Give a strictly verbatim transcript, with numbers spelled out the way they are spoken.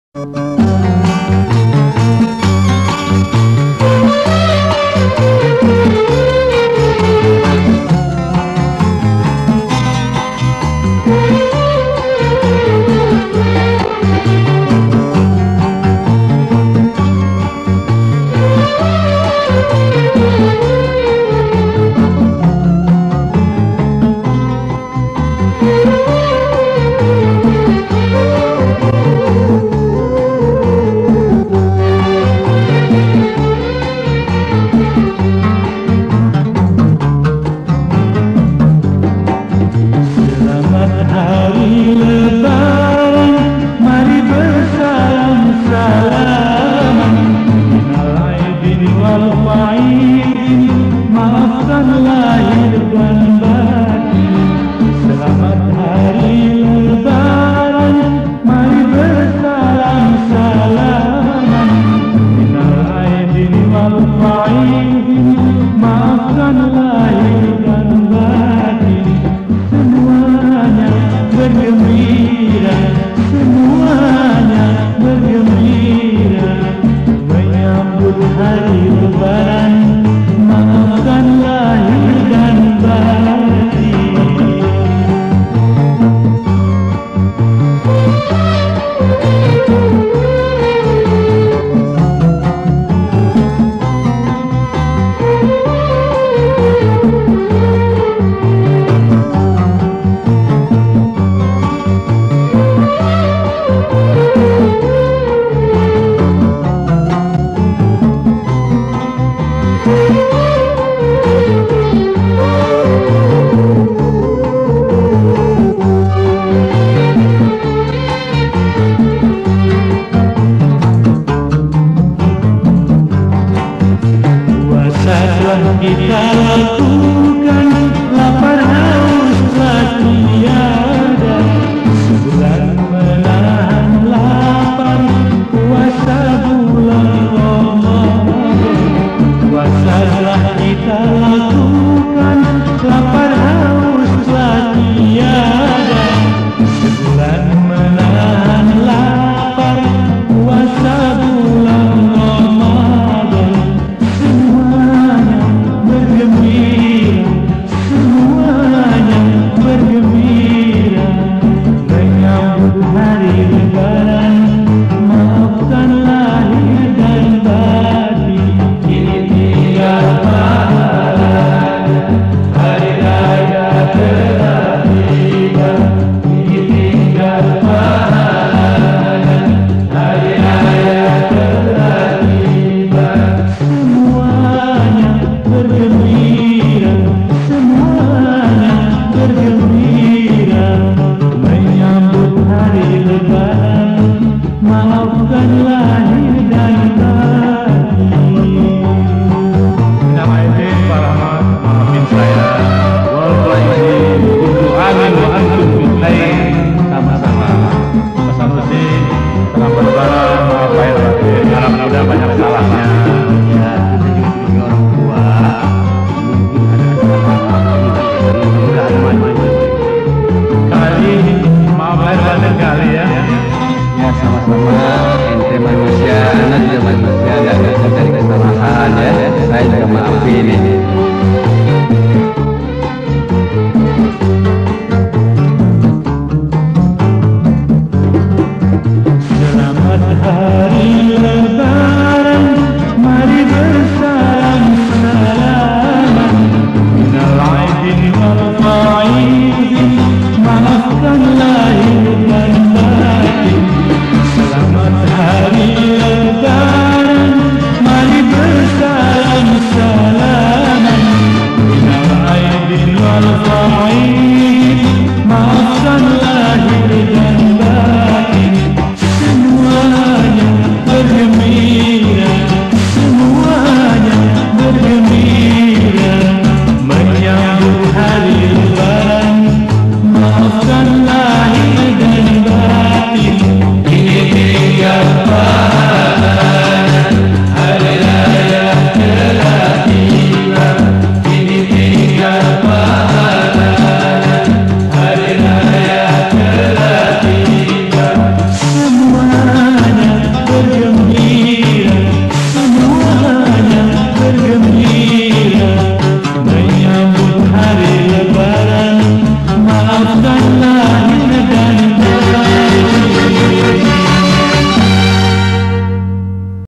Kita lakukan, lapar haus telah tiada. Sebulan menahan lapar, puasa bulan Ramadan. Puasa telah kita lakukan, lapar haus telah tiada. Sebulan menahan lapar, puasa bulan Ramadan. Semuanya bergembira, semuanya bergembira menyambut hari Lebaran. Maafkan lahir dan batin, kini tinggal pahalanya. Hari raya telah tiba, kini tinggal pahalanya. Hari raya telah tiba. Semuanya bergembira, semuanya bergembira menyambut hari Lebaran. Maafkan lahir dan batin. Nama izin Pak Rahmat, maafin saya. Wal izin untuk amin wa antum bil khair. Sama-sama. Pesan izin selamat Lebaran, maaf lahir batin. Harap mudah banyak salahnya. Ya, kita juga sebagai orang tua mungkin ada kesalahan. Kali maaf lahir batin kali ya. Ya, sama-sama. Ente manusia, anak juga manusia, nggak bisa cari kesalahan ya. Saya juga maafin ini.